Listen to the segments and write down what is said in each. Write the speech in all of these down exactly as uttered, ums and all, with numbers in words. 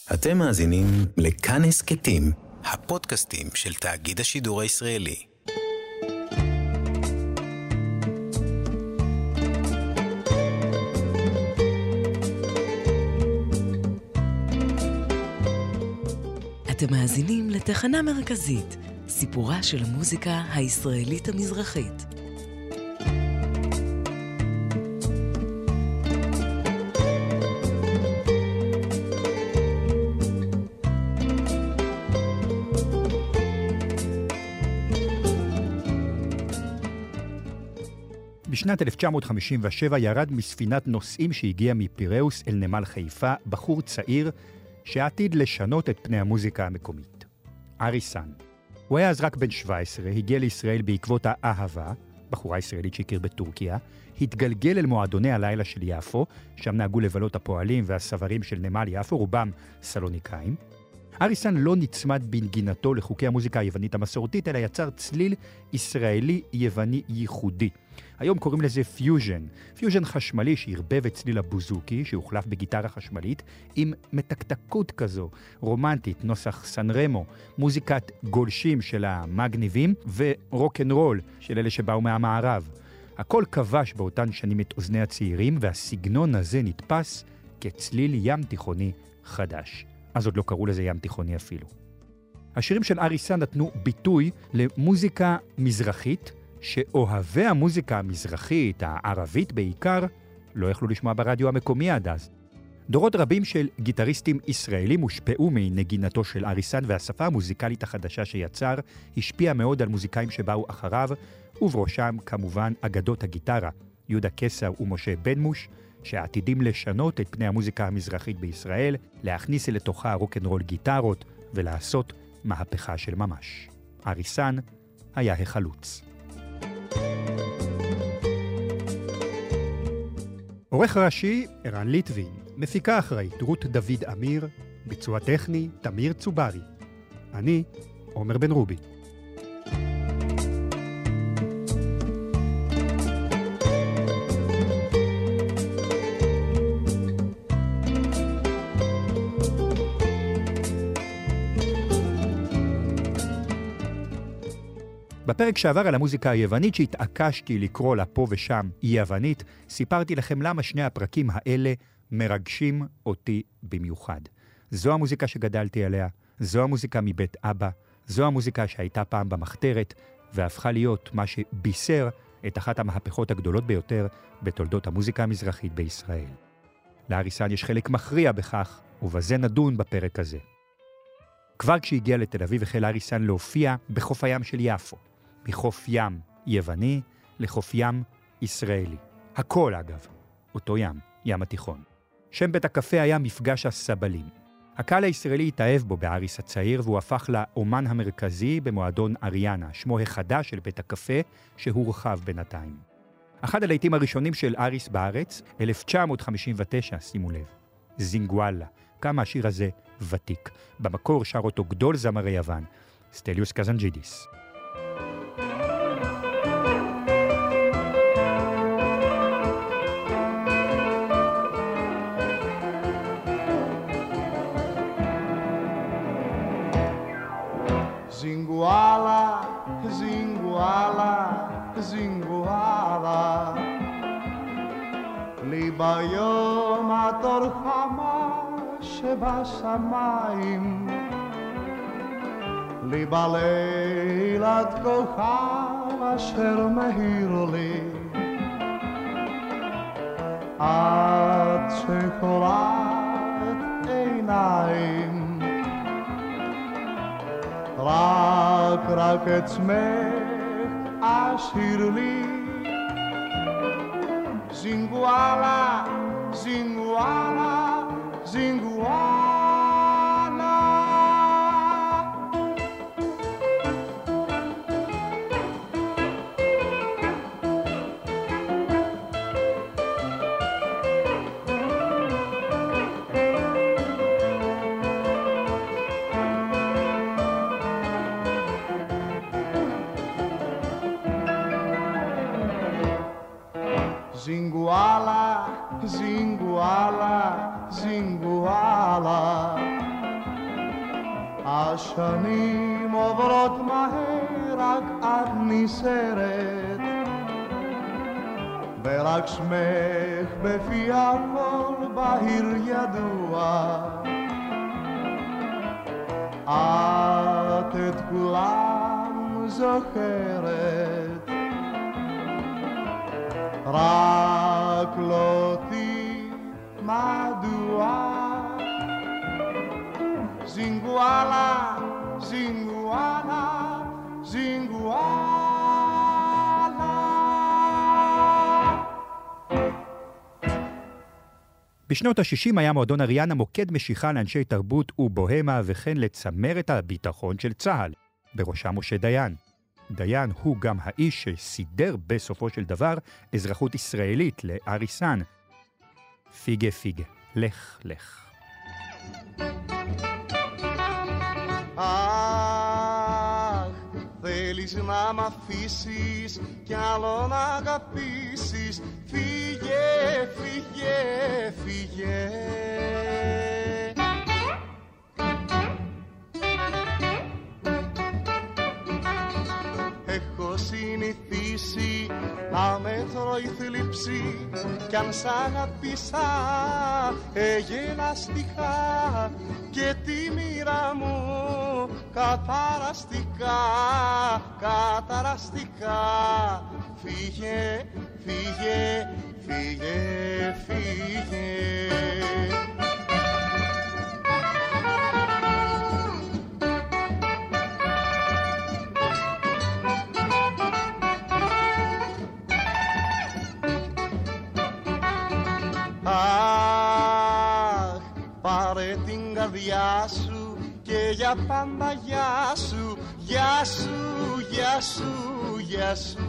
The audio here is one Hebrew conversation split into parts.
אתם מאזינים לכאן הסקטים, הפודקאסטים של תאגיד השידור הישראלי. אתם מאזינים לתחנה מרכזית, סיפורה של המוזיקה הישראלית המזרחית. בשנת אלף תשע מאות חמישים ושבע ירד מספינת נוסעים שהגיעה מפיראוס אל נמל חיפה בחור צעיר שעתיד לשנות את פני המוזיקה המקומית. אריסן. הוא היה אז רק בן שבע עשרה, הגיע לישראל בעקבות האהבה, בחורה ישראלית שהכיר בטורקיה, התגלגל אל מועדוני הלילה של יפו, שם נהגו לבלות הפועלים והסברים של נמל יפו, רובם סלוניקאים. אריסן לא נצמד בנגינתו לחוקי המוזיקה היוונית המסורתית, אלא יצר צליל ישראלי יווני ייחודי. היום קוראים לזה פיוז'ן, פיוז'ן חשמלי שהרבב את צליל הבוזוקי, שהוחלף בגיטרה חשמלית, עם מתקתקות כזו, רומנטית, נוסח סן רמו, מוזיקת גולשים של המגניבים, ורוק'נ'רול של אלה שבאו מהמערב. הכל כבש באותן שנים את אוזני הצעירים, והסגנון הזה נתפס כצליל ים תיכוני חדש. אז עוד לא קראו לזה ים תיכוני אפילו. השירים של אריסן נתנו ביטוי למוזיקה מזרחית, שאוהבי המוזיקה המזרחית, הערבית בעיקר, לא יכלו לשמוע ברדיו המקומי עד אז. דורות רבים של גיטריסטים ישראלים הושפעו מנגינתו של אריסן, והשפה המוזיקלית החדשה שיצר השפיעה מאוד על מוזיקאים שבאו אחריו, ובראשם כמובן אגדות הגיטרה, יהודה קסר ומשה בנמוש, שעתידים לשנות את פני המוזיקה המזרחית בישראל, להכניס לתוכה רוק'נ'רול גיטרות ולעשות מהפכה של ממש. אריסן היה החלוץ. עורך ראשי, ערן ליטבין, מפיקה אחראית, רות דוד אמיר, ביצוע טכני, תמיר צוברי. אני, עומר בן רובי. בפרק שעבר על המוזיקה היוונית שהתעקשתי לקרוא לה פה ושם היא יוונית, סיפרתי לכם למה שני הפרקים האלה מרגשים אותי במיוחד. זו המוזיקה שגדלתי עליה, זו המוזיקה מבית אבא, זו המוזיקה שהייתה פעם במחתרת, והפכה להיות מה שבישר את אחת המהפכות הגדולות ביותר בתולדות המוזיקה המזרחית בישראל. לאריסן יש חלק מכריע בכך, ובזה נדון בפרק הזה. כבר כשהגיע לתל אביב החל אריסן להופיע בחוף הים של יפו. מחוף ים יווני לחוף ים ישראלי. הכל אגב, אותו ים, ים התיכון. שם בית הקפה היה מפגש הסבלים. הקהל הישראלי התאהב בו באריס הצעיר, והוא הפך לאומן המרכזי במועדון אריאנה, שמו החדש של בית הקפה שהורחב בינתיים. אחד הלהיטים הראשונים של אריס בארץ, אלף תשע מאות חמישים ותשע, שימו לב, זינגואלה. כמה השיר הזה ותיק. במקור שר אותו גדול זמרי יוון, סטליוס קזנג'ידיס. זינגואלה, זינגואלה, זינגואלה, לי ביום התור חמה שבשמיים, לי בלילת כוכב אשר מהיר לי, עד שקורעת עיניים, רק רק עצמך אשיר לי, זינגואלה, זינגואלה, זינגואלה. Zinguala, zinguala, zinguala. השנים עוברות מהר, רק את נסערת, ורק שמך בפי הכל בהיר ידוע. את את כולם זוכרת, רק לא אותי מדוע. זינגואלה, זינגואלה, זינגואלה. בשנות ה-שישים היה מועדון אריאנה מוקד משיכה לאנשי תרבות ובוהמה וכן לצמרת הביטחון של צה"ל, בראשם משה דיין. דיין הוא גם האיש שסידר בסופו של דבר אזרחות ישראלית לאריסן. פיגה פיגה, לך לך. Αχ, θέλεις να μ' αφήσεις κι άλλο να αγαπήσεις. Φύγε, φύγε, φύγε. Έχω συνηθίσει να με τρώει θλίψη κι αν σ' αγάπησα εγελαστικά και τη μοίρα μου καταραστικά, καταραστικά. Φύγε, φύγε, φύγε, φύγε. Αχ, πάρε την καρδιά σου και για πάντα γεια σου, γεια σου, γεια σου, γεια σου.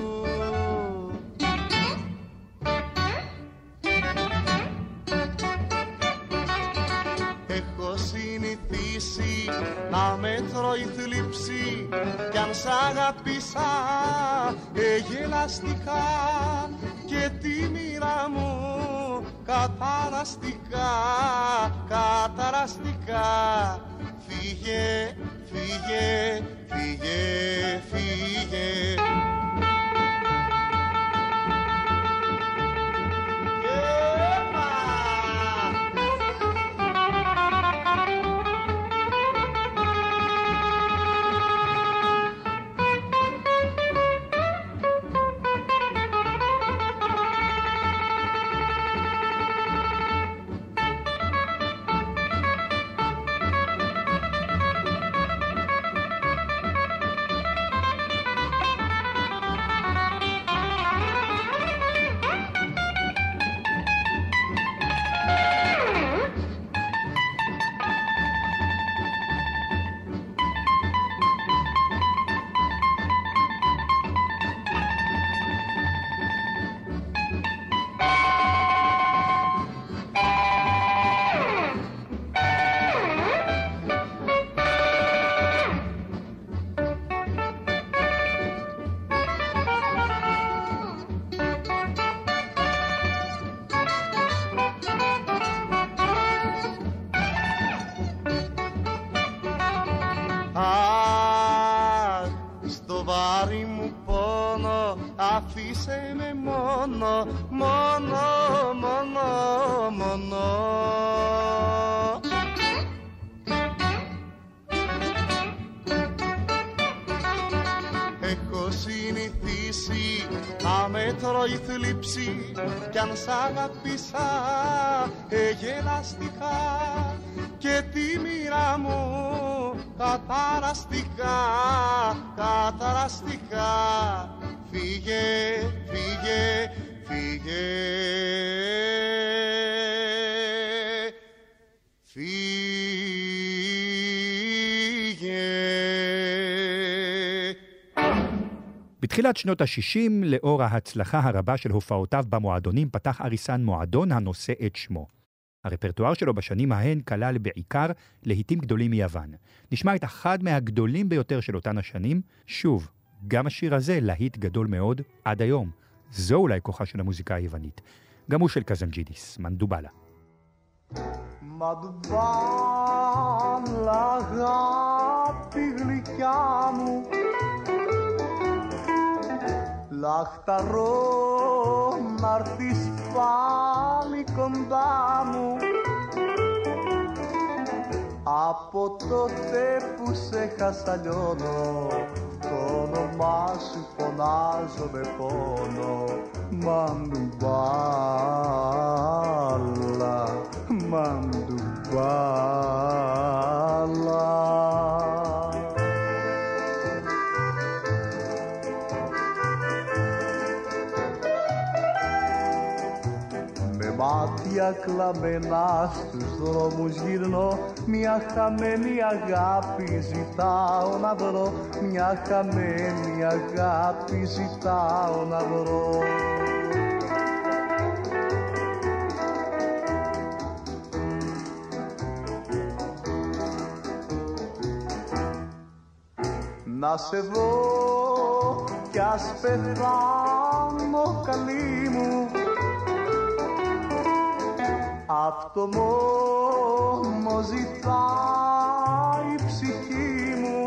Έχω συνηθίσει να με τρώει θλίψη κι αν σ' αγάπησα εγελαστικά και τη μοίρα μου καταραστικά, καταραστικά. Φύγε, φύγε, φύγε, φύγε. Αφήσε με μόνο, μόνο, μόνο, μόνο. Έχω συνηθίσει να με τρώει θλίψη κι αν σ' αγάπησα εγελαστικά και τη μοίρα μου καταραστικά, καταραστικά. Φύγε, φύγε, φύγε, φύγε. בתחילת שנות ה-שישים, לאור ההצלחה הרבה של הופעותיו במועדונים, פתח אריסן מועדון הנושא את שמו. הרפרטואר שלו בשנים ההן כלל בעיקר להיטים גדולים מיוון. נשמע את אחד מהגדולים ביותר של אותן השנים, שוב, גם השיר הזה להיט גדול מאוד עד היום. זו אולי כוחה של המוזיקה היוונית. גם הוא של קזנג'ידיס, מנדובלה. מדובלה Λαχταρώ να'ρθεις πάλι κοντά μου. Από τότε που σε χασαλιώνω, το όνομά σου φωνάζω με πόνο. Μαντουμπάλα, μαντουμπάλα. Μάτια κλαμμένα στους δρόμους γυρνώ, μια χαμένη αγάπη ζητάω να βρω, μια χαμένη αγάπη ζητάω να βρω. Να σε δω κι ας πεθάνω καλή μου, αυτό μόνο ζητάει η ψυχή μου.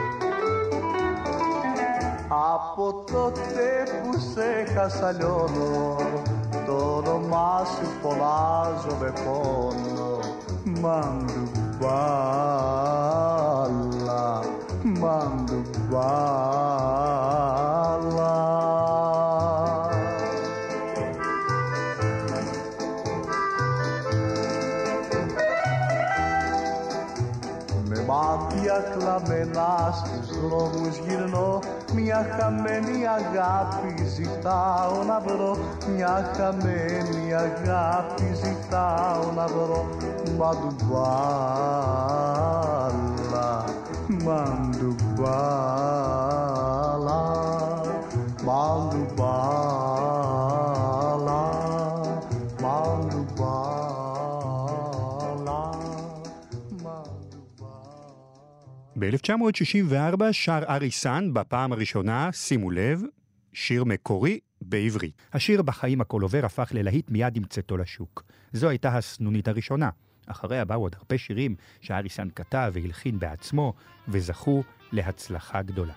Από τότε που σε χασαλιώνω, το όνομά σου φωνάζω με πόνο. Μαντουμπάλα, μαντουμπάλα. Μάτια κλαμμένα στους δρόμους γυρνώ, μια χαμένη αγάπη ζητάω να βρω, μια χαμένη αγάπη ζητάω να βρω. Μαντουμπάλα, μαντουμπάλα, μαντουμπάλα, μαντουμπάλα. ב-אלף תשע מאות שישים וארבע שר אריסן בפעם הראשונה, שימו לב, שיר מקורי בעברית. השיר בחיים הכל עובר הפך ללהיט מיד עם צאתו לשוק. זו הייתה הסנונית הראשונה. אחריה באו עוד הרבה שירים שאריסן כתב והלחין בעצמו, וזכו להצלחה גדולה.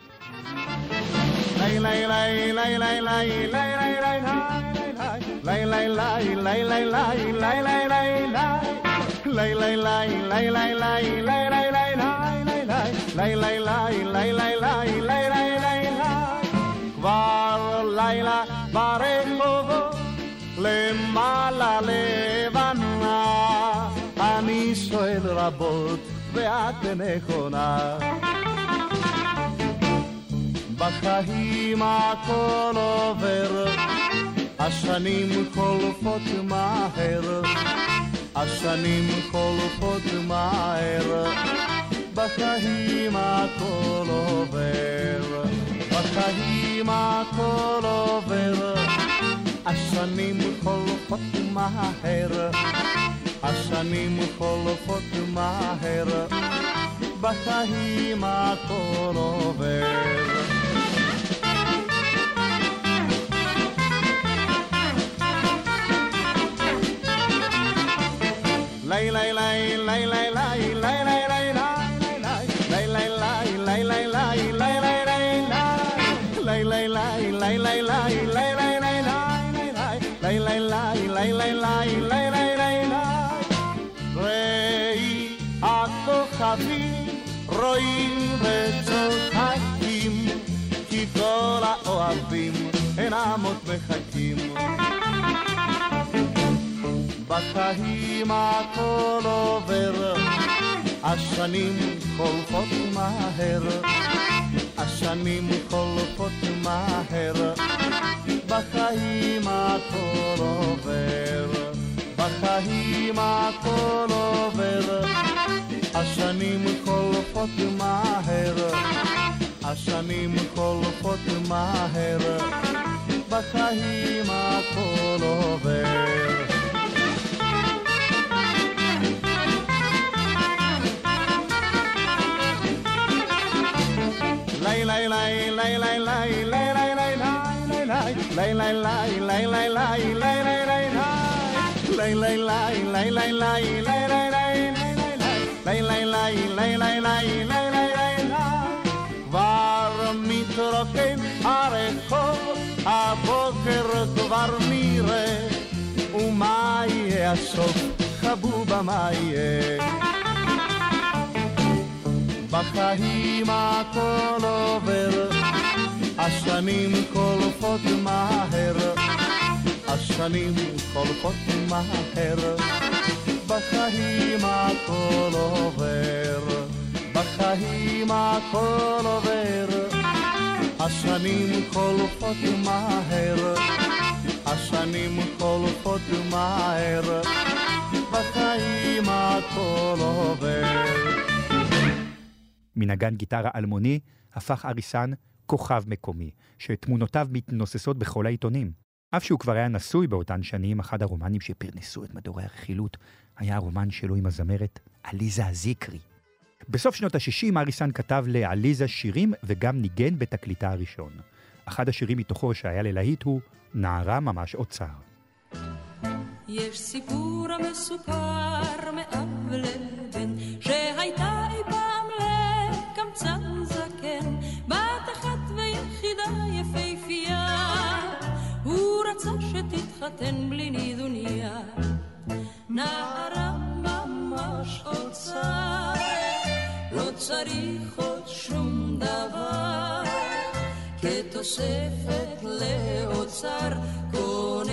כבר לילה ברחובות למעלה לבנה, אני שואל רבות ואת נכונה. בחיים הכל עובר, השנים חולפות מהר, השנים חולפות מהר. בחיים הכל עובר, בחיים הכל עובר, השנים חולפות מהר, השנים חולפות מהר. בחיים הכל עובר. ליי ליי ליי ליי ליי ליי ליי ליי ראי הכוכבים רואים וצוחקים, כי כל האוהבים אינם עוד מחכים. בחיים הכל עובר, השנים חולפות מהר, השנים חולפות מהר. בחיים הכל עובר, בחיים הכל עובר, השנים חולפות מהר, השנים חולפות מהר. בחיים הכל עובר. ליי ליי ליי ליי ליי ליי ליי ליי ליי ליי ליי ליי ליי ליי ליי ליי ליי ליי ליי. כבר מתרוקן הרחוב, בוקר כבר נראה, ומה יהיה הסוף, חבובה מה יהיה. בחיים הכל עובר, השנים חולפות מהר, השנים חולפות מהר. בחיים הכל עובר, בחיים הכל עובר, השנים חולפות מהר, השנים חולפות מהר. בחיים הכל עובר. מנגן גיטרה אלמוני הפך אריסן כוכב מקומי, שתמונותיו מתנוססות בכל העיתונים. אף שהוא כבר היה נשוי באותן שנים, אחד הרומנים שפרנסו את מדורי הרכילות היה הרומן שלו עם הזמרת עליזה זיקרי. בסוף שנות ה-שישים אריסן כתב לעליזה שירים וגם ניגן בתקליטה הראשון. אחד השירים מתוכו שהיה ללהיט הוא נערה ממש אוצר. יש סיפור המסופר מאב לבן, שהייתה אי פעם לקמצן זקן, בת אחת ויחידה יפהפייה, הוא רצה שתתחתן בלי נידוניה. נערה ממש אוצר, לא צריך עוד שום דבר, כתוספת לאוצר קונה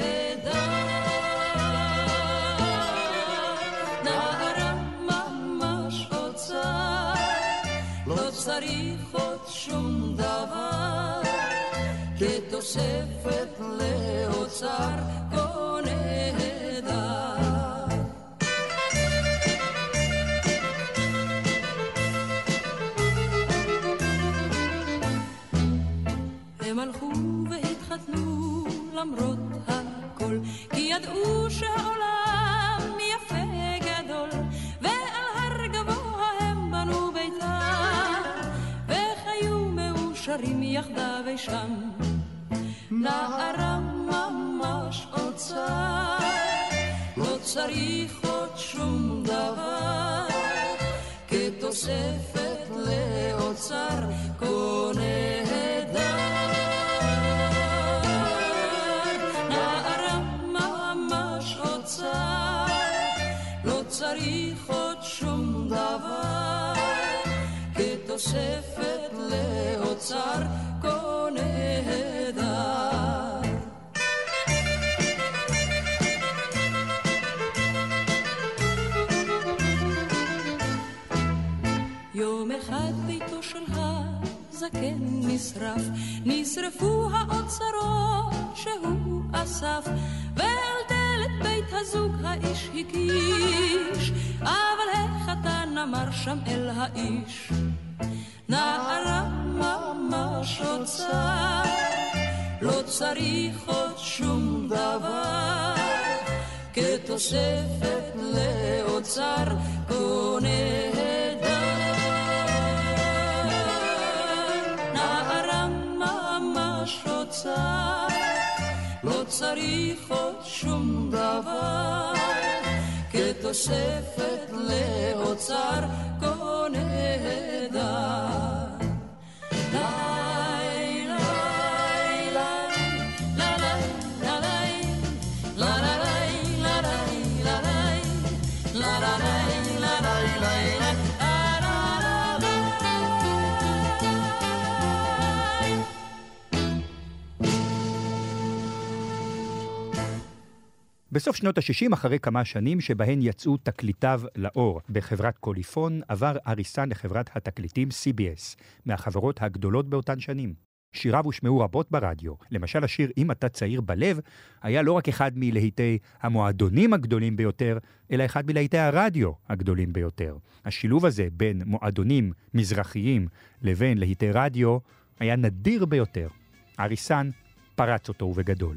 צריך עוד שום דבר, כתוספת לאוצר קונה דר. הם הלכו והתחתנו למרות הכל, כי ידעו שהעולם יפה גדול, ועל הר גבוה הם בנו ביתם, שרים יחדיו שם. נערה ממש אוצר, לא צריך עוד שום דבר, כתוספת לאוצר קונה דר. נערה ממש אוצר, לא צריך עוד שום דבר, כתוספת לאוצר קונה דר. יום אחד ביתו של הזקן נשרף, נשרפו האוצרות שהוא אסף, ועל דלת בית הזוג האיש הקיש, אבל החתן אמר שם אל האיש, נערה ממש אוצר, לא צריך עוד שום דבר, כתוספת לאוצר קונה דר. נערה ממש אוצר, לא צריך עוד שום דבר, כתוספת לאוצר קונה דר. בסוף שנות ה-שישים, אחרי כמה שנים שבהן יצאו תקליטיו לאור בחברת קוליפון, עבר אריסן לחברת התקליטים סי בי אס, מהחברות הגדולות באותן שנים. שיריו הושמעו רבות ברדיו. למשל השיר "אם אתה צעיר בלב" היה לא רק אחד מלהיטי המועדונים הגדולים ביותר, אלא אחד מלהיטי הרדיו הגדולים ביותר. השילוב הזה בין מועדונים מזרחיים לבין להיטי רדיו היה נדיר ביותר. אריסן פרץ אותו ובגדול.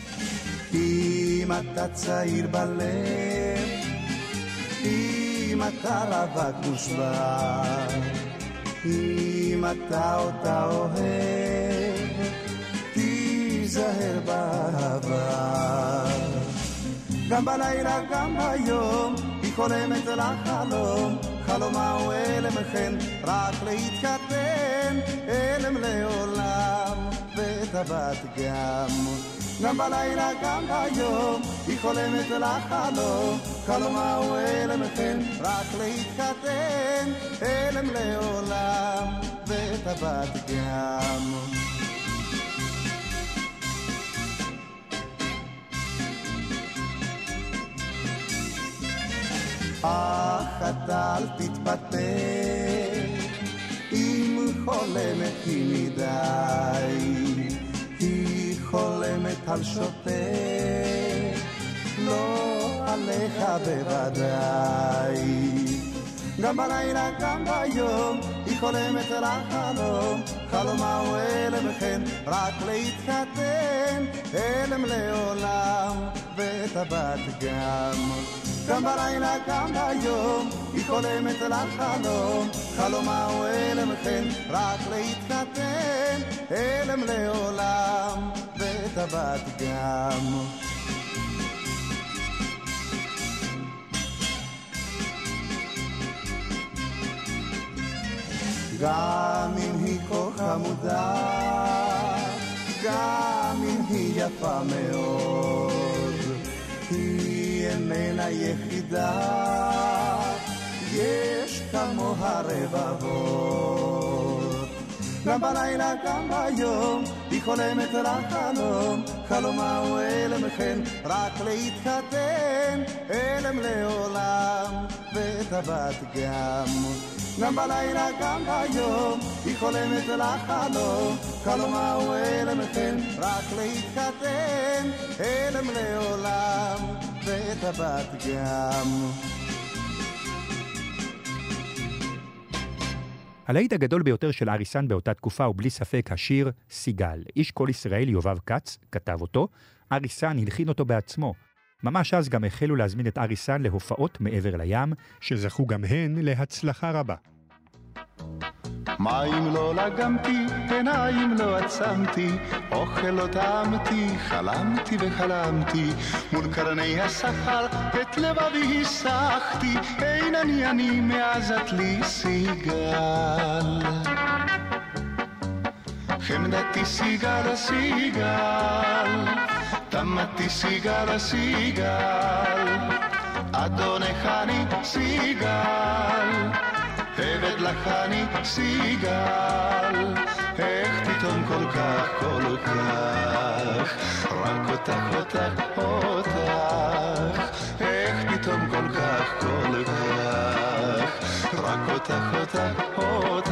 אם אתה צעיר בלב, אם אתה רווק מושבע, אם אתה אותה אוהב, תיזהר בעבר. גם בלילה גם היום היא חולמת לחלום, חלומה הוא אלם כן רק להתחתן, אלם לעולם. וטבעת גם. גם בלילה גם ביום היא חולמת לחלום, חלומה הוא אלם כן רק להתחתן, אלם לעולם וטבעת גם. אך אתה אל תתפתה אם חולמת היא מדי, היא חולמת על שוטה, לא עליך בוודאי. גם בלילה גם ביום היא חולמת לחלום, חלומה הוא אלם כן רק להתחתן, אלם לעולם וטבעת גם. גם בלילה גם ביום היא חולמת לחלום, חלומה הוא אלם כן רק להתחתן, אלם לעולם וטבעת גם. גם אם היא כה חמודה, גם אם היא יפה מאוד, היא איננה יחידה, יש כמוה רבבות. גם בלילה גם ביום היא חולמת לחלום, חלומה הוא אלם כן רק להתחתן, אלם לעולם וטבעת גם. גם בלילה גם ביום היא חולמת לחלום, חלומה הוא אלם כן רק להתחתן, אלם לעולם וטבעת גם. הלהיט הגדול ביותר של אריסן באותה תקופה הוא בלי ספק השיר סיגל. איש כל ישראל יובב כץ כתב אותו, אריסן הלחין אותו בעצמו. ממש אז גם החלו להזמין את אריסן להופעות מעבר לים, שזכו גם הן להצלחה רבה. מים לא לגמתי, עיניים לא עצמתי, אוכל לא טעמתי, חלמתי וחלמתי, מול קרני השחר את לבבי הסחתי, אין אני אני מאז את לי סיגל. חמדתי סיגל סיגל, תמתי סיגל סיגל, אדונך אני סיגל, עבד לך אני סיגל, איך פתאום כל כך כל כך, רק אותך אותך אותך, איך פתאום כל כך כל כך, רק אותך אותך אותך.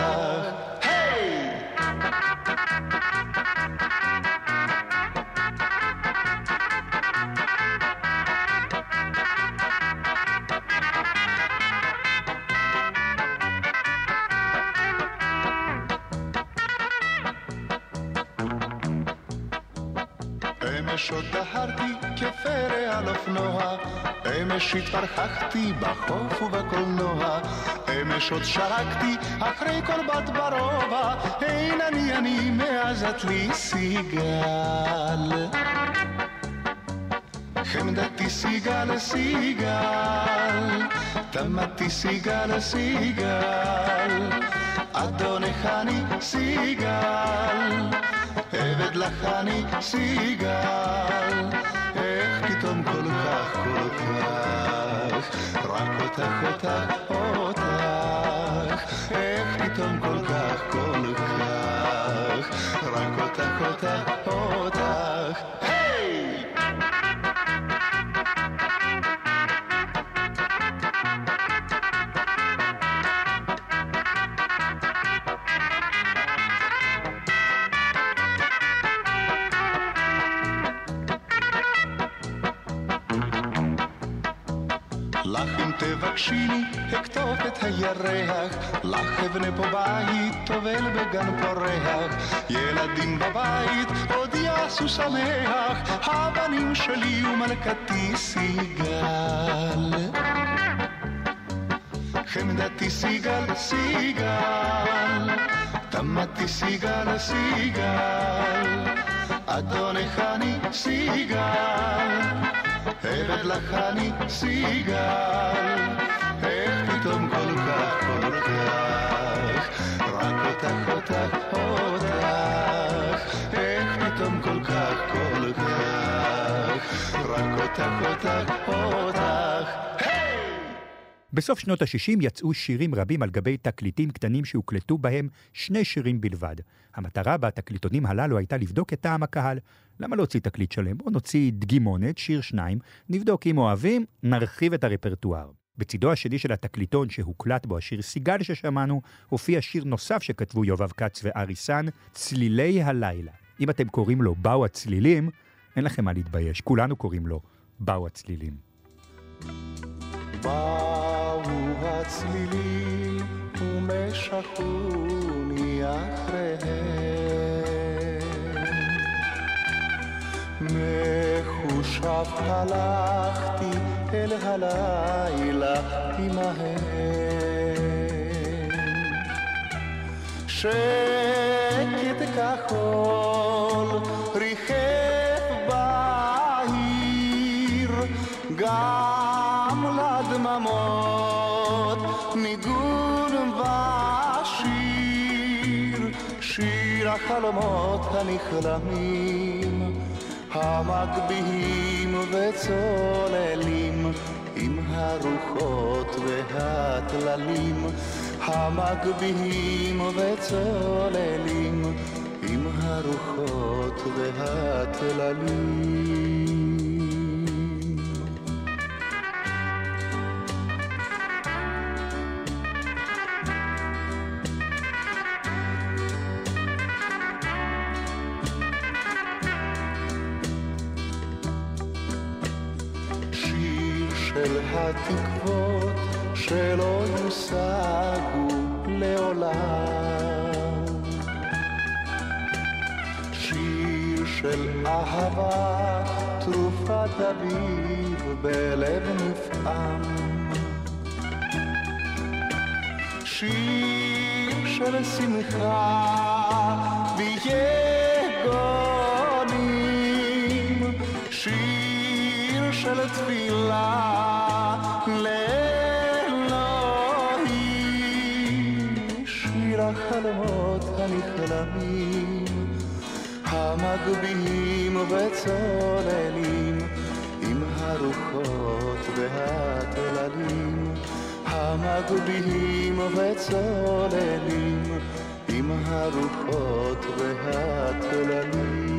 אמש עוד דהרתי כפרא על אופנוע, אמש התפרחחתי בחוף ובקולנוע, אמש עוד שרקתי אחרי כל בת ברובע, אין אני אני מאז את לי סיגל. חמדתי סיגל סיגל, תמתי סיגל סיגל, אדונך אני סיגל, עבד לך אני סיגל, איך פתאום כל כך כל כך, רק אותך אותך אותך, איך פתאום כל כך כל כך, רק אותך אותך אותך. לך אם תבקשיני הכתוב את הירח, לך אבנה פה בית טובל בגן פורח, ילדים בבית עוד יעשו שמח, הבנים שלי ומלכתי סיגל. חמדתי סיגל סיגל, תמתי סיגל סיגל, אדונך אני סיגל, עבד לך אני סיגל, איך פתאום כל כך כל כך, רק אותך אותך אותך, איך פתאום אותך, אותך. בסוף שנות ה-שישים יצאו שירים רבים על גבי תקליטים קטנים שהוקלטו בהם שני שירים בלבד. המטרה בתקליטונים הללו הייתה לבדוק את טעם הקהל. למה להוציא תקליט שלם? בוא נוציא דגימונת, שיר שניים, נבדוק אם אוהבים, נרחיב את הרפרטואר. בצידו השני של התקליטון שהוקלט בו השיר סיגל ששמענו, הופיע שיר נוסף שכתבו יובב כץ ואריסן, צלילי הלילה. אם אתם קוראים לו באו הצלילים, אין לכם מה להתבייש, כולנו קוראים לו באו הצלילים. באו הצלילים ומשכוני אחריהם, מחושב הלכתי אל הלילה עמהם, שקט כחול ריחף בעיר, גם לדממות ניגון ושיר, שיר החלומות הנכלמים, המגביהים וצוללים, עם הרוחות והטללים, המגביהים וצוללים, עם הרוחות והטללים. של התקוות שלא יושגו לעולם, שיר של אהבה תרופת אביב בלב נפעם, שיר של שמחה ויגונים, שיר של תפילה לאלוהים, שיר החלומות הנכלמים, המגביהים וצוללים, עם הרוחות והטללים, המגביהים וצוללים, עם הרוחות והטללים.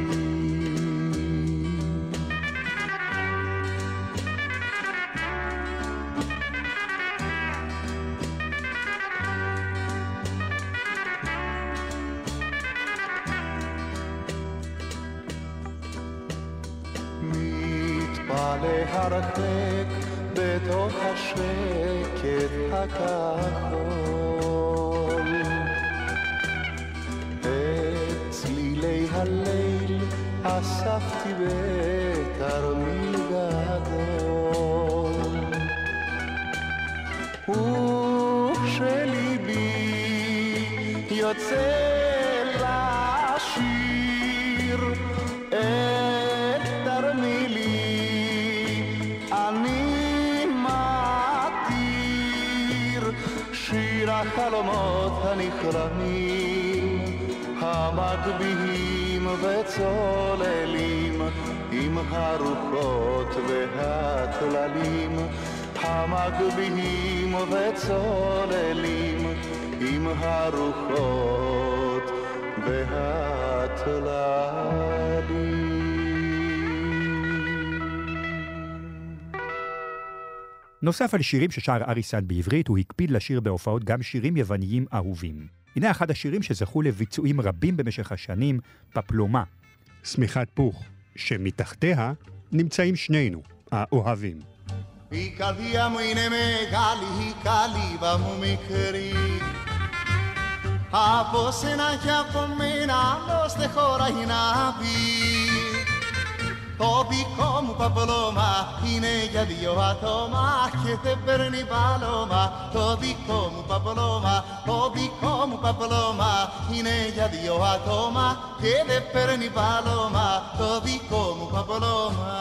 להרחק בתוך השקט הכחול, את צלילי הליל אספתי בתרמיל גדול, וכשליבי יוצא לשיר את תרמילי, אני מתיר שיר החלומות הנכלמים, המגביהים וצוללים, עם הרוחות והטללים, המגביהים וצוללים, עם הרוחות והטללים. נוסף על שירים ששר אריסן בעברית, הוא הקפיד לשיר בהופעות גם שירים יווניים אהובים. הנה אחד השירים שזכו לביצועים רבים במשך השנים, פפלומה, שמיכת פוך, שמתחתיה נמצאים שנינו, האוהבים. Η καρδιά μου είναι μεγάλη, η καλύβα μου μικρή, από σένα και από μένα άλλος δεν χωράει να πει. Το δικό μου παπλώμα είναι για δύο άτομα και δεν παίρνει πάλωμα. Το δικό μου παπλώμα, το δικό μου παπλώμα είναι για δύο άτομα και δεν παίρνει πάλωμα. Το δικό μου παπλώμα.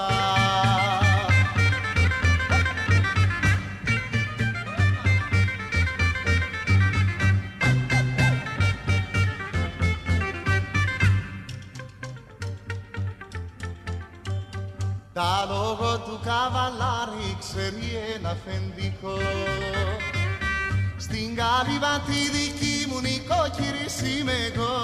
Τα λόγω του καβαλάρι ξέρει ένα αφεντικό. Στην καλύβα τη δική μου νοικοκυρίση είμαι εγώ.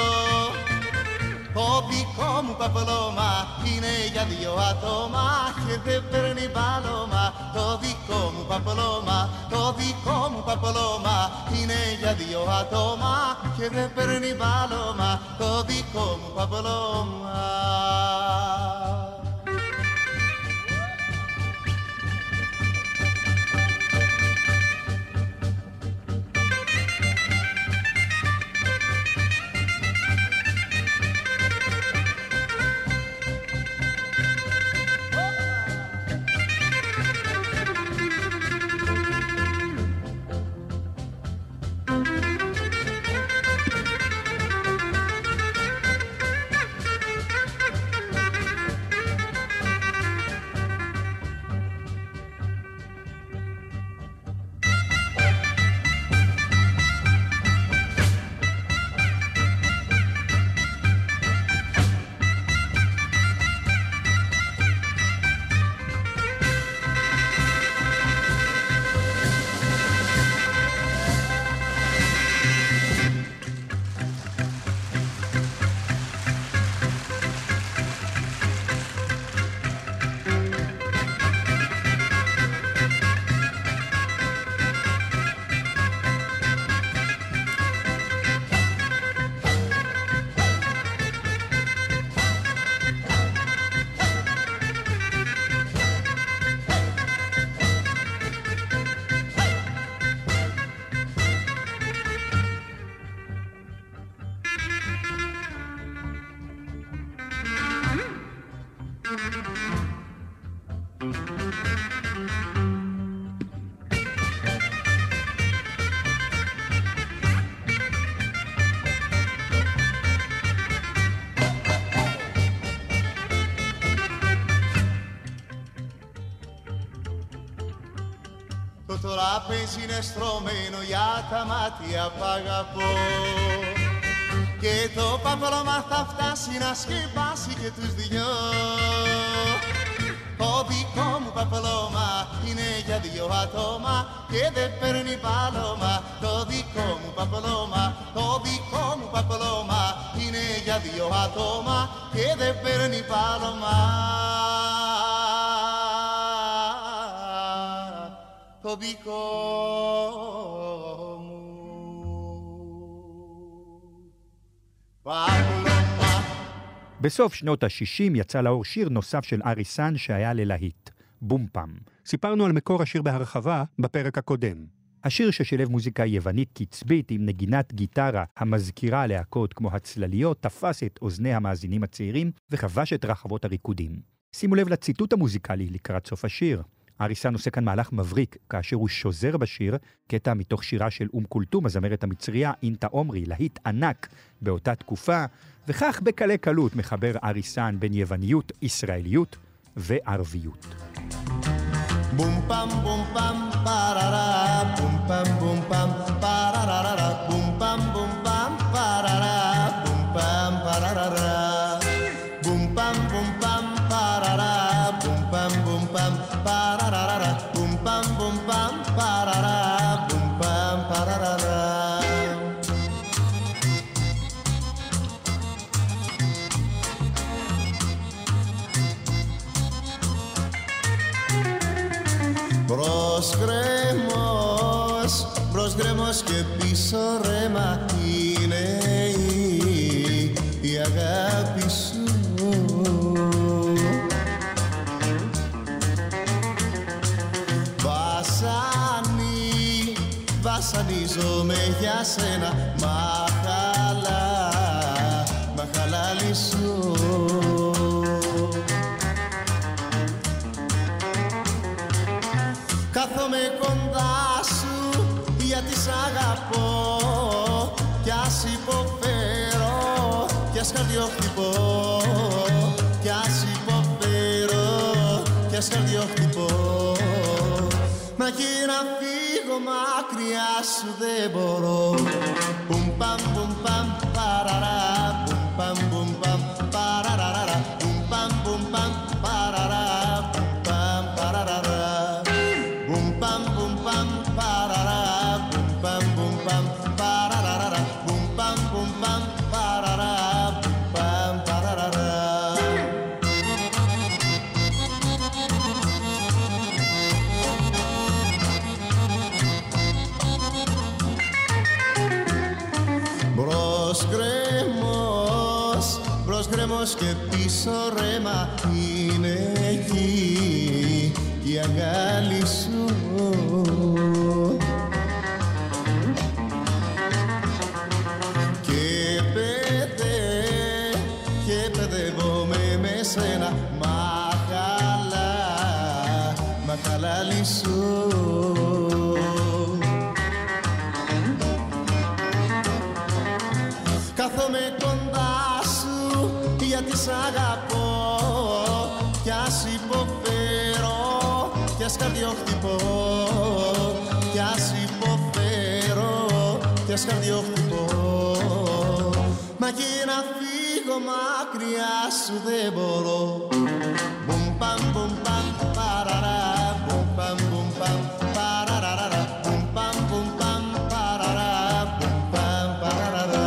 Το δικό μου παπλώμα είναι για δύο άτομα και δεν παίρνει πάλωμα. Το δικό μου παπλώμα, το δικό μου παπλώμα είναι για δύο άτομα και δεν παίρνει πάλωμα. Το δικό μου παπλώμα. Το τραπέζι είναι στρωμένο για τα μάτια που αγαπώ και το παπλώμα θα φτάσει να σκεπάσει και τους δυο. Το δικό μου παπλώμα είναι για δύο άτομα και δεν παίρνει πάλωμα. Το δικό μου παπλώμα, το δικό μου παπλώμα είναι για δύο άτομα και δεν παίρνει πάλωμα. Το δικό μου פבלומה. בסוף שנות ה-שישים יצא לאור שיר נוסף של אריסן שהיה ללהיט, בום פם. סיפרנו על מקור השיר בהרחבה בפרק הקודם. השיר ששילב מוזיקה יוונית קצבית עם נגינת גיטרה המזכירה להקות כמו הצלליות, תפס את אוזני המאזינים הצעירים וכבש את רחבות הריקודים. שימו לב לציטוט המוזיקלי לקראת סוף השיר. אריסן עושה כאן מהלך מבריק כאשר הוא שוזר בשיר קטע מתוך שירה של אום כולתום, הזמרת המצריה אינטה עומרי, להיט ענק באותה תקופה, וכך בקלי קלות מחבר אריסן בין יווניות, ישראליות וערביות. בום פם בום פם פררה בום פם בום פם פררה בום פם בום פם פררה בום פם פררה בום פם בום פם פררה בום פם בום פם פררה בום פם בום פם פררה בום פם פררה. Μπρος γκρέμος, μπρος γκρέμος και πίσω ρέμα είναι η, η αγάπη σου. Βασανί, βασανίζομαι για σένα, μαχαλά, μαχαλάλι σου. Κάθομαι κοντά σου γιατί σ' αγαπώ κι ας υποφέρω κι ας καρδιοχτυπώ κι ας υποφέρω κι ας καρδιοχτυπώ. Μα και να φύγω μακριά σου δεν μπορώ. Πουμ παμ πουμ παμ παραρά πουμ παμ πουμ παμ παραρά πουμ παμ πουμ παμ παραρά πουμ παμ γκρεμός και πίσω ρέμα είναι εκεί η αγκάλι σου. Και παιδε, και παιδεύομαι με σένα, μα καλά, μα καλά λυσού. Κάθομαι κοντά σου γιατί σ' αγαπώ κι ας υποφέρω κι ας καρδιοχτυπώ, κι ας υποφέρω κι ας καρδιοχτυπώ. Μα και να φύγω μακριά σου δεν μπορώ. Μπουμ παμ μπουμ παμ παραρά, μπουμ παμ μπουμ παμ παραραραρα, μπουμ παμ μπουμ παμ παραρά, μπουμ παμ παραραρα.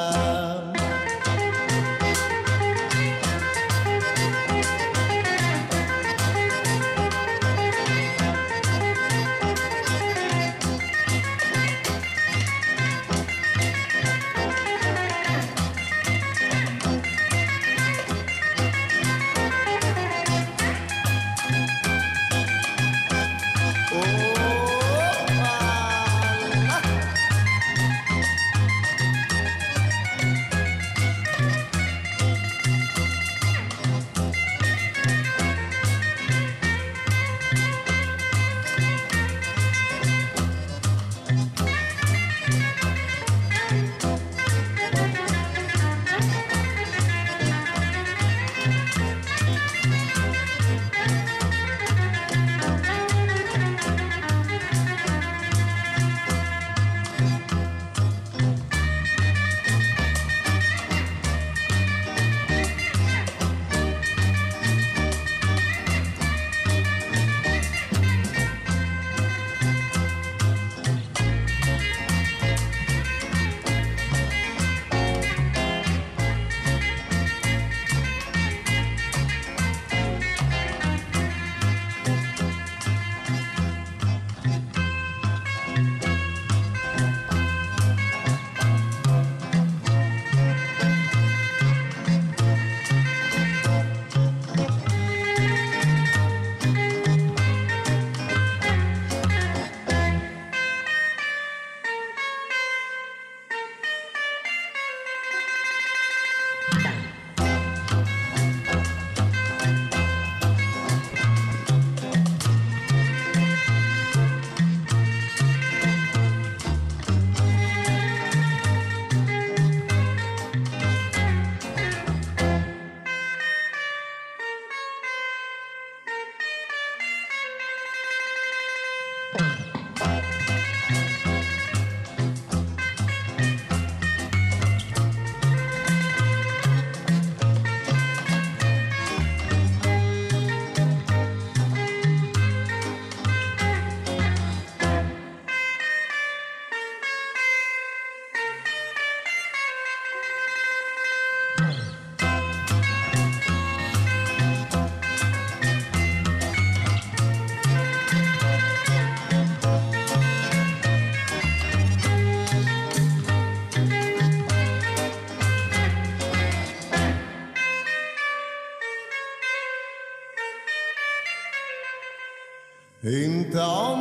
انت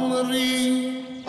عمري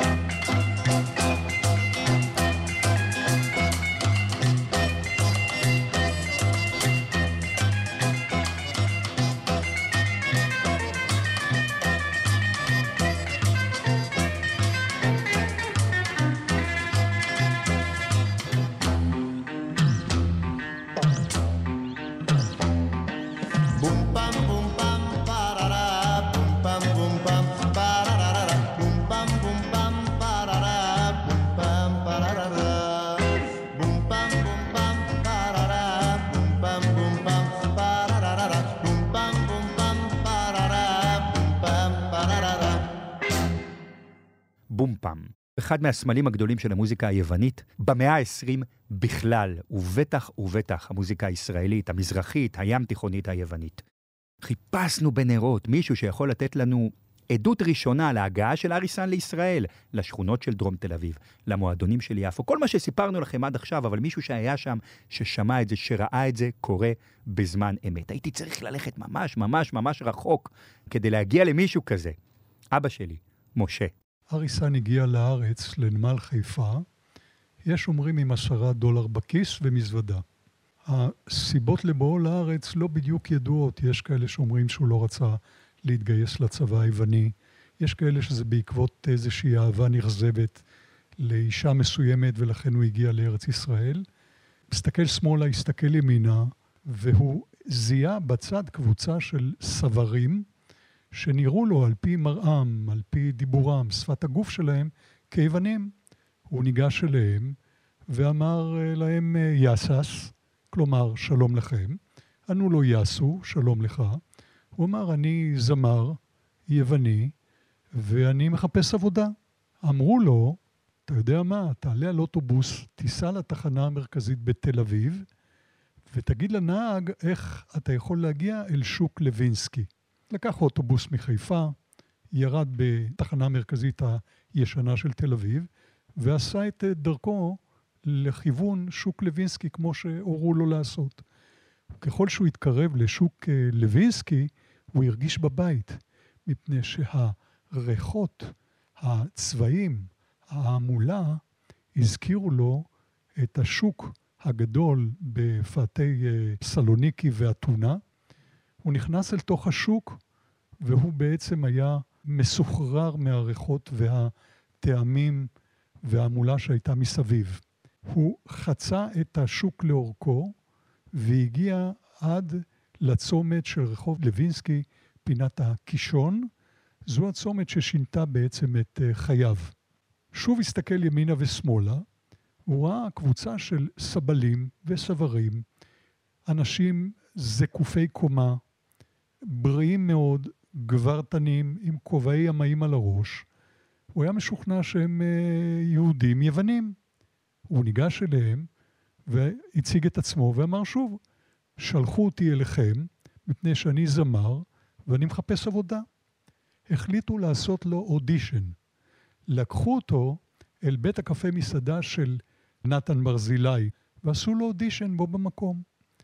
בום-פם, אחד מהסמלים הגדולים של המוזיקה היוונית, במאה ה-עשרים בכלל, ובטח ובטח המוזיקה הישראלית, המזרחית, הים תיכונית היוונית. חיפשנו בנרות מישהו שיכול לתת לנו עדות ראשונה להגעה של אריסן לישראל, לשכונות של דרום תל אביב, למועדונים של יפו. כל מה שסיפרנו לכם עד עכשיו, אבל מישהו שהיה שם, ששמע את זה, שראה את זה, קורה בזמן אמת. הייתי צריך ללכת ממש, ממש, ממש רחוק, כדי להגיע למישהו כזה. אבא שלי, משה. אריסן הגיע לארץ, לנמל חיפה, יש אומרים עם עשרה דולר בכיס ומזוודה. הסיבות לבואו לארץ לא בדיוק ידועות, יש כאלה שאומרים שהוא לא רצה להתגייס לצבא היווני, יש כאלה שזה בעקבות איזושהי אהבה נכזבת לאישה מסוימת ולכן הוא הגיע לארץ ישראל. מסתכל שמאלה, הסתכל ימינה, והוא זיהה בצד קבוצה של סברים שנראו לו על פי מראם, על פי דיבורם, שפת הגוף שלהם, כיוונים. הוא ניגש אליהם ואמר להם יסס, כלומר שלום לכם. ענו לו יסו, שלום לך. הוא אמר, אני זמר, יווני, ואני מחפש עבודה. אמרו לו, אתה יודע מה, תעלה על אוטובוס, תיסע לתחנה המרכזית בתל אביב, ותגיד לנהג איך אתה יכול להגיע אל שוק לוינסקי. לקח אוטובוס מחיפה, ירד בתחנה המרכזית הישנה של תל אביב, ועשה את דרכו לכיוון שוק לוינסקי, כמו שהורו לו לעשות. ככל שהוא התקרב לשוק לוינסקי, הוא הרגיש בבית, מפני שהריחות, הצבעים, העמולה, הזכירו לו את השוק הגדול בפאתי סלוניקי ואתונה. הוא נכנס אל תוך השוק, והוא בעצם היה מסוחרר מהריחות והטעמים והעמולה שהייתה מסביב. הוא חצה את השוק לאורכו, והגיע עד לצומת של רחוב לוינסקי, פינת הקישון. זו הצומת ששינתה בעצם את חייו. שוב הסתכל ימינה ושמאלה, הוא ראה קבוצה של סבלים וסברים, אנשים זקופי קומה, בריאים מאוד, גברתנים, עם כובעי ימאים על הראש. הוא היה משוכנע שהם יהודים יוונים. הוא ניגש אליהם והציג את עצמו ואמר שוב, שלחו אותי אליכם מפני שאני זמר ואני מחפש עבודה. החליטו לעשות לו אודישן. לקחו אותו אל בית הקפה מסעדה של נתן ברזילי ועשו לו אודישן בו במקום.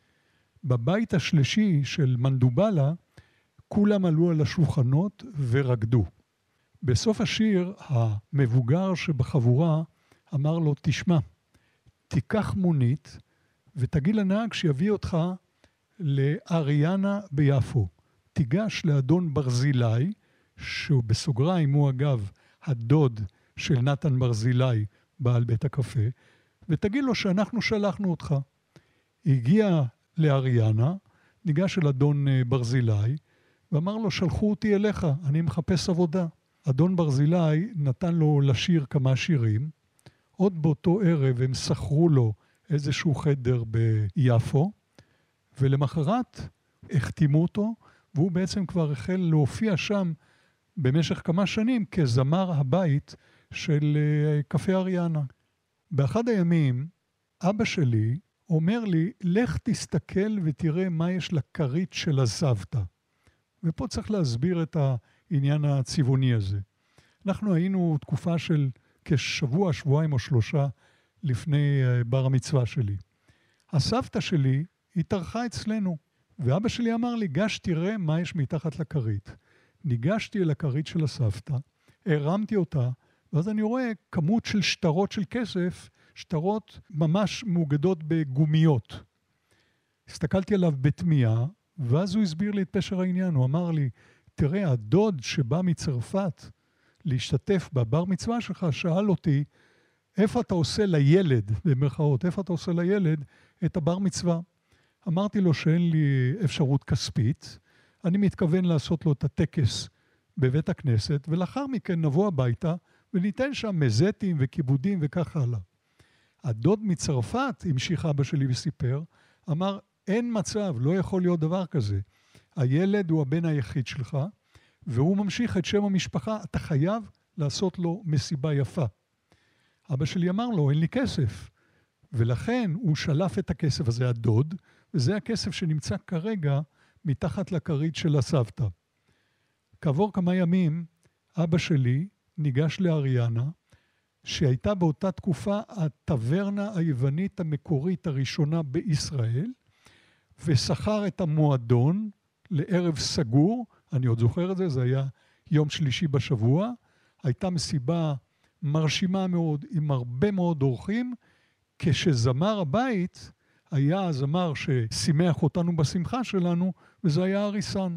בבית השלישי של מנדובלה כולם עלו על השולחנות ורקדו. בסוף השיר המבוגר שבחבורה אמר לו, תשמע, תיקח מונית ותגיד לנהג שיביא אותך לאריאנה ביפו. תיגש לאדון ברזילי, שהוא בסוגריים, הוא אגב הדוד של נתן ברזילי, בעל בית הקפה, ותגיד לו שאנחנו שלחנו אותך. הגיע לאריאנה, ניגש אל אדון ברזילי, ואמר לו, שלחו אותי אליך, אני מחפש עבודה. אדון ברזילי נתן לו לשיר כמה שירים, עוד באותו ערב הם שכרו לו איזשהו חדר ביפו, ולמחרת החתימו אותו, והוא בעצם כבר החל להופיע שם במשך כמה שנים כזמר הבית של קפה אריאנה. באחד הימים, אבא שלי אומר לי, לך תסתכל ותראה מה יש לכרית של הסבתא. ופה צריך להסביר את העניין הצבעוני הזה. אנחנו היינו תקופה של כשבוע, שבועיים או שלושה לפני בר המצווה שלי. הסבתא שלי התארחה אצלנו, ואבא שלי אמר לי, גש תראה מה יש מתחת לכרית. ניגשתי אל הכרית של הסבתא, הרמתי אותה, ואז אני רואה כמות של שטרות של כסף, שטרות ממש מאוגדות בגומיות. הסתכלתי עליו בתמיהה, ואז הוא הסביר לי את פשר העניין. הוא אמר לי, תראה, הדוד שבא מצרפת להשתתף בבר מצווה שלך, שאל אותי, איפה אתה עושה לילד, במרכאות, איפה אתה עושה לילד את הבר מצווה? אמרתי לו שאין לי אפשרות כספית, אני מתכוון לעשות לו את הטקס בבית הכנסת, ולאחר מכן נבוא הביתה וניתן שם מזטים וכיבודים וכך הלאה. הדוד מצרפת, המשיך אבא שלי וסיפר, אמר, אין מצב, לא יכול להיות דבר כזה. הילד הוא הבן היחיד שלך, והוא ממשיך את שם המשפחה, אתה חייב לעשות לו מסיבה יפה. אבא שלי אמר לו, אין לי כסף. ולכן הוא שלף את הכסף הזה, הדוד, וזה הכסף שנמצא כרגע מתחת לכרית של הסבתא. כעבור כמה ימים אבא שלי ניגש לאריאנה, שהייתה באותה תקופה הטברנה היוונית המקורית הראשונה בישראל, ושכר את המועדון לערב סגור, אני עוד זוכר את זה, זה היה יום שלישי בשבוע, הייתה מסיבה מרשימה מאוד עם הרבה מאוד אורחים, כשזמר הבית היה הזמר ששימח אותנו בשמחה שלנו, וזה היה אריסן.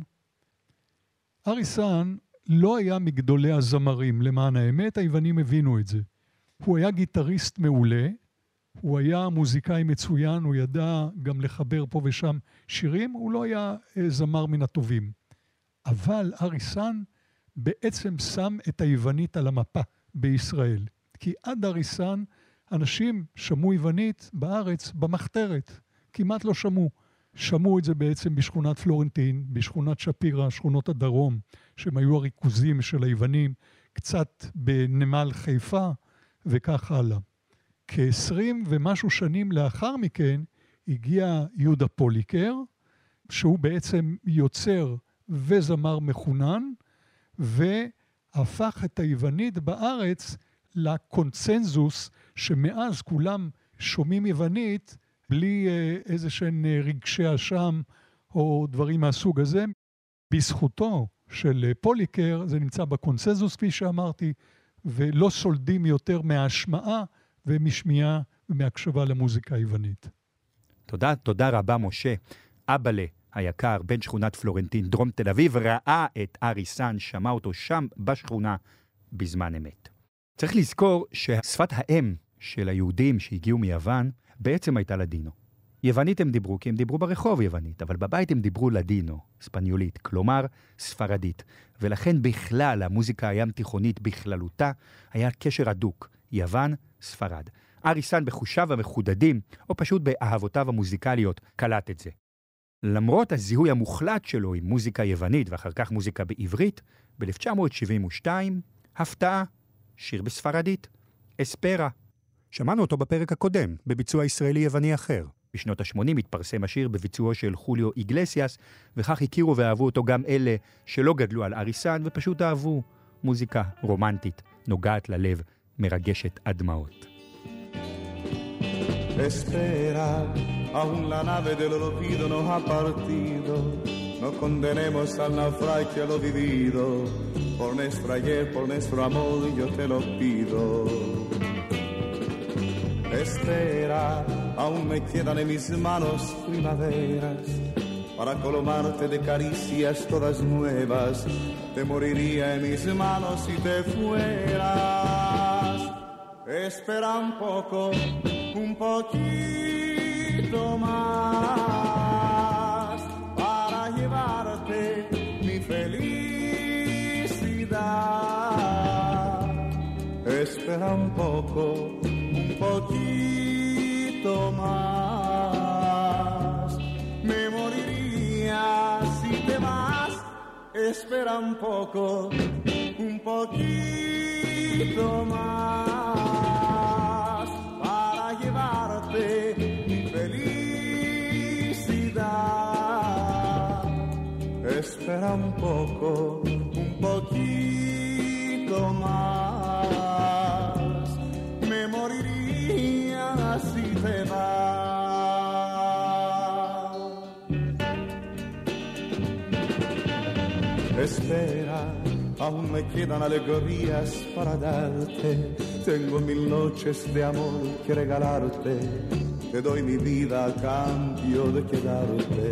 אריסן לא היה מגדולי הזמרים, למען האמת, היוונים הבינו את זה. הוא היה גיטריסט מעולה, הוא היה מוזיקאי מצוין, הוא ידע גם לחבר פה ושם שירים, הוא לא היה זמר מן הטובים. אבל אריסן בעצם שם את היוונית על המפה בישראל. כי עד אריסן אנשים שמעו יוונית בארץ במחתרת, כמעט לא שמעו. שמעו את זה בעצם בשכונת פלורנטין, בשכונת שפירה, שכונות הדרום, שהם היו הריכוזים של היוונים, קצת בנמל חיפה וכך הלאה. כ-עשרים ומשהו שנים לאחר מכן הגיע יהודה פוליקר, שהוא בעצם יוצר וזמר מחונן, והפך את היוונית בארץ לקונצנזוס, שמאז כולם שומעים יוונית, בלי איזה שהן רגשי אשם או דברים מהסוג הזה. בזכותו של פוליקר זה נמצא בקונצנזוס, כפי שאמרתי, ולא סולדים יותר מההשמעה ומשמיעה ומהקשבה למוזיקה היוונית. תודה, תודה רבה משה. אבאלה היקר, בן שכונת פלורנטין, דרום תל אביב, ראה את אריסן, שמע אותו שם בשכונה בזמן אמת. צריך לזכור ששפת האם של היהודים שהגיעו מיוון בעצם הייתה לדינו. יוונית הם דיברו כי הם דיברו ברחוב יוונית, אבל בבית הם דיברו לדינו, ספניולית, כלומר ספרדית. ולכן בכלל המוזיקה הים תיכונית בכללותה היה קשר הדוק, יוון, ספרד. אריסן בחושיו המחודדים, או פשוט באהבותיו המוזיקליות, קלט את זה. למרות הזיהוי המוחלט שלו עם מוזיקה יוונית ואחר כך מוזיקה בעברית, ב-אלף תשע מאות שבעים ושתיים, הפתעה, שיר בספרדית, אספרה. שמענו אותו בפרק הקודם, בביצוע ישראלי-יווני אחר. בשנות ה-שמונים התפרסם השיר בביצועו של חוליו איגלסיאס, וכך הכירו ואהבו אותו גם אלה שלא גדלו על אריסן ופשוט אהבו מוזיקה רומנטית, נוגעת ללב, מרגשת עד דמעות. Espera, aún la nave del olvido no ha partido, no condenemos al naufragio lo vivido, por nuestro ayer, por nuestro amor yo te lo pido. Espera, aún me quedan en mis manos primaveras, para colmarte de caricias todas nuevas, te moriría en mis manos si te fueras. Espera un poco, un poquito más, para llevarte mi felicidad. Espera un poco, un poquito más, me moriría si te vas. Espera un poco, un poquito más, para llevarte mi felicidad. Espera un poco, un poquito más, me moriría si te vas. Espera, aún me quedan alegrías para darte, tengo mil noches de amor que regalarte, te doy mi vida a cambio de quedarte.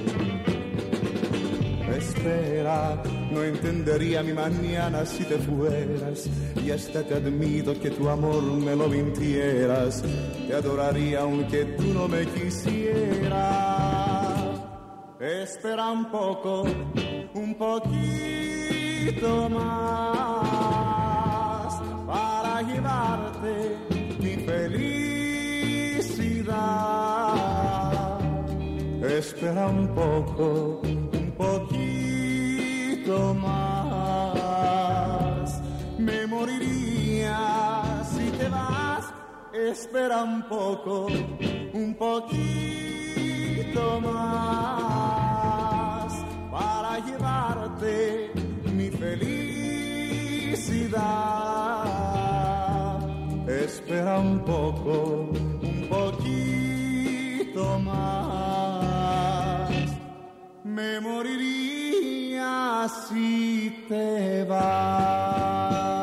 Espera, no entendería mi mañana si te fueras, y hasta te admito que tu amor me lo mintieras, te adoraría aunque tú no me quisieras. Espera un poco, un poquito más, para llevarte mi felicidad. Espera un poco, un poquito más, me moriría si te vas. Espera un poco, un poquito más, para llevarte mi felicidad. felicidad. Espera un poco, un poquito más. Me moriría si te vas.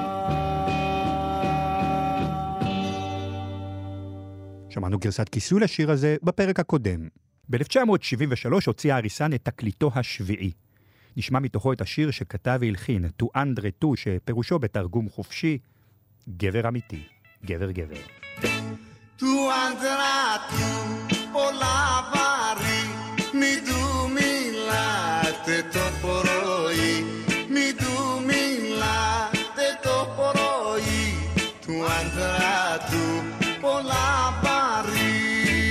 שמענו גרסת כיסוי לשיר הזה בפרק הקודם. ב-אלף תשע מאות שבעים ושלוש הוציא אריסן את תקליטו השביעי. נשמע מתוכו את השיר שכתב והלחין, Tu Andre Tu, שפירושו בתרגום חופשי, גבר אמיתי, גבר גבר. Tu andrà tu, polavari, mi du milate toporoi, mi du milate toporoi, tu andrà tu, polavari.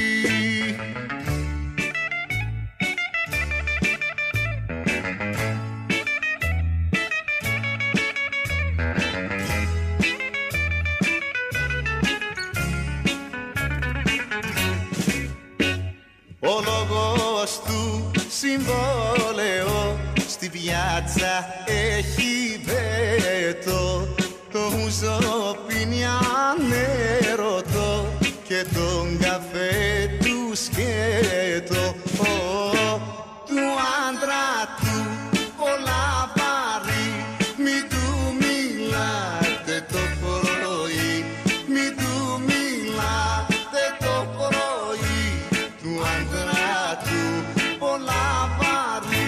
Ο λόγος του συμβόλαιο στη πιάτσα έχει βέτο. Το ούζο πίνει ανέρωτο και τον καφέ του σκέτο. Ο, του άντρα του πολλά βάρη, μη του μιλάτε το πρωί, μη του μιλάτε το πρωί. Του άντρα του πολλά βάρη.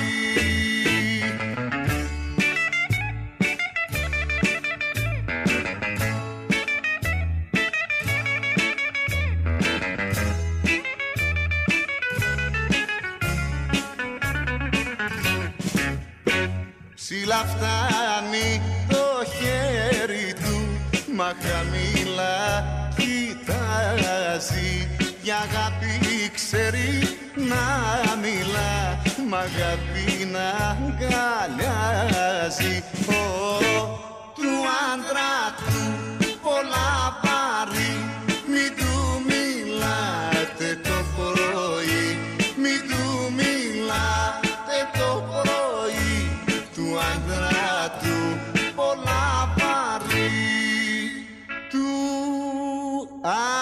Ψηλά φτάνει το χέρι του, μα χαμηλά κοιτάζει. Για αγάπη ξέρει να μιλά, μ' αγάπη να αγκαλιάζει. Ο, του άντρα του πολλά βάρη, μη του μιλάτε το πρωί, μη του μιλάτε το πρωί. Του άντρα του πολλά βάρη, του άντρα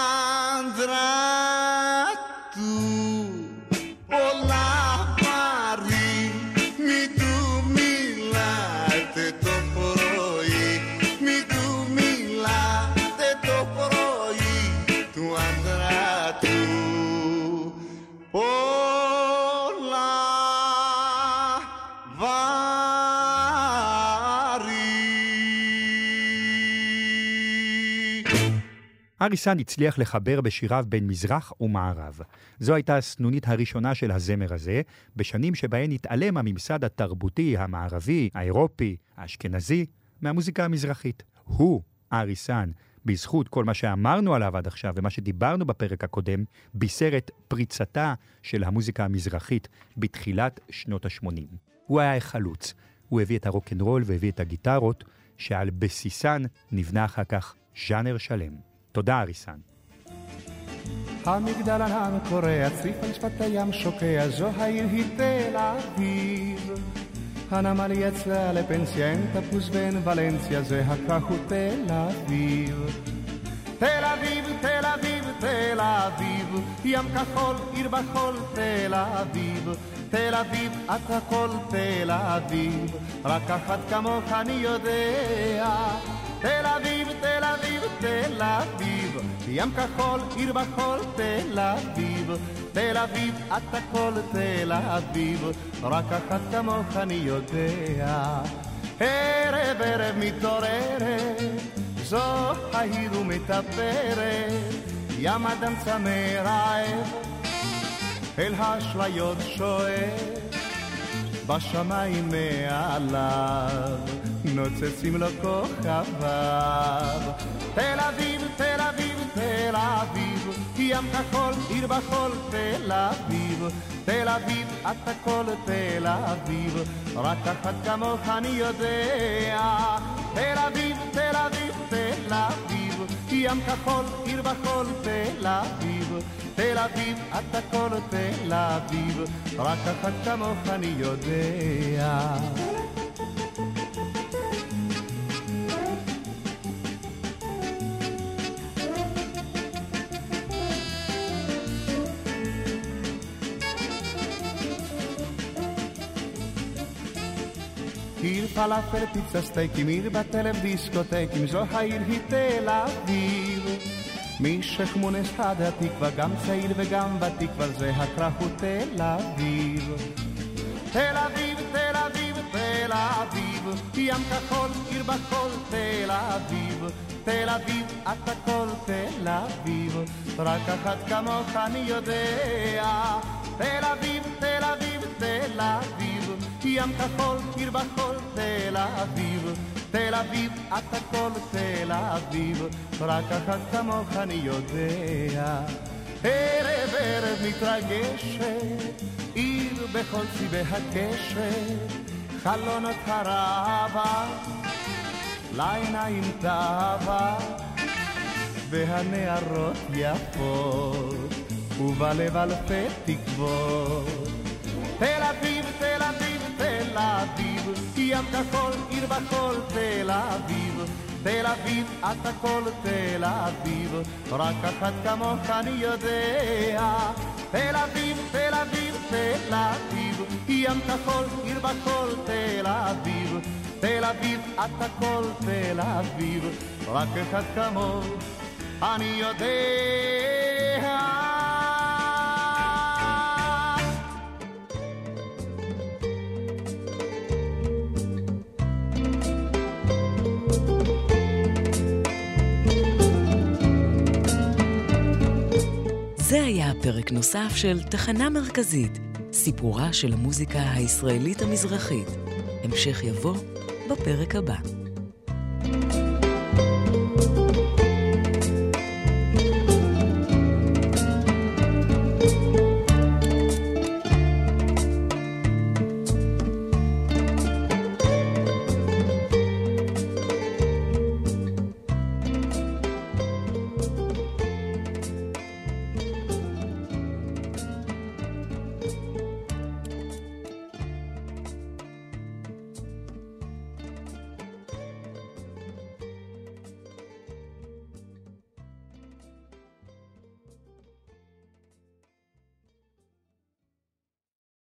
אריסן הצליח לחבר בשיריו בין מזרח ומערב. זו הייתה הסנונית הראשונה של הזמר הזה, בשנים שבהן התעלם הממסד התרבותי, המערבי, האירופי, האשכנזי, מהמוזיקה המזרחית. הוא, אריסן, בזכות כל מה שאמרנו עליו עד עכשיו ומה שדיברנו בפרק הקודם, בישר את פריצתה של המוזיקה המזרחית בתחילת שנות ה-שמונים. הוא היה חלוץ. הוא הביא את הרוקנרול והביא את הגיטרות, שעל בסיסן נבנה אחר כך ז'אנר שלם. תודה אריסן. המגדל ענן קורע, צריף על שפת הים שוקע, זו העיר היא תל אביב. הנמל יצא לפנסיה, אין תפוס בין ולנסיה, זה הכך הוא תל אביב. תל אביב, תל אביב, תל אביב, ים כחול, עיר בחול, תל אביב. תל אביב, את הכל תל אביב, רק אחת כמוך אני יודע. תל אביב, תל אביב, תל אביב, ים כחול, עיר בחול, תל אביב. תל אביב, את הכל תל אביב, רק אחת כמוך אני יודע. ערב ערב מתעוררת, זו העיר ומתאפרת, ים אדם צמא רעב, אל האשליות שואף, בשמיים מעליו נוצצים לו כוכביו. תל אביב, תל אביב, תל אביב, ים כחול, עיר בחול, תל אביב. תל אביב, את הכל תל אביב, רק אחת כמוך אני יודע. תל אביב, תל אביב, תל אביב, ים כחול, עיר בחול, תל אביב. תל אביב, את הכל תל אביב, רק אחת כמוך אני יודע. עיר פלאפל, פיצה, סטייקים, עיר בטלב, דיסקוטקים, זו העיר היא תל אביב. מי שכמונס עד התקווה, גם צעיר וגם ותיק, אבל זה הקרב הוא תל אביב. תל אביב, תל אביב, תל אביב, ים כחול, עיר בחול, תל אביב. תל אביב, את הכל תל אביב, רק אחת כמוך אני יודע. תל אביב, תל אביב, תל אביב, ים כחול, עיר בחול, תל אביב. תל אביב, את הכל תל אביב, רק אחת כמוך אני יודע. ערב ערב מתרגשת, עיר בכל צבעי הקשת, חלונות הרבה, לעיניים טובה, והנערות יפות, ובלב אלפי תקוות. תל אביב, תל אביב, תל אביב, ים כחול, עיר בחול, תל אביב. תל אביב, את הכל תל אביב, רק אחת כמוך אני יודע. תל אביב, תל אביב, תל אביב, ים כחול, עיר בחול, תל אביב. תל אביב, את הכל תל אביב, רק אחד כמוך אני יודע. זה היה פרק נוסף של תחנה מרכזית, סיפורה של המוזיקה הישראלית המזרחית. המשך יבוא בפרק הבא.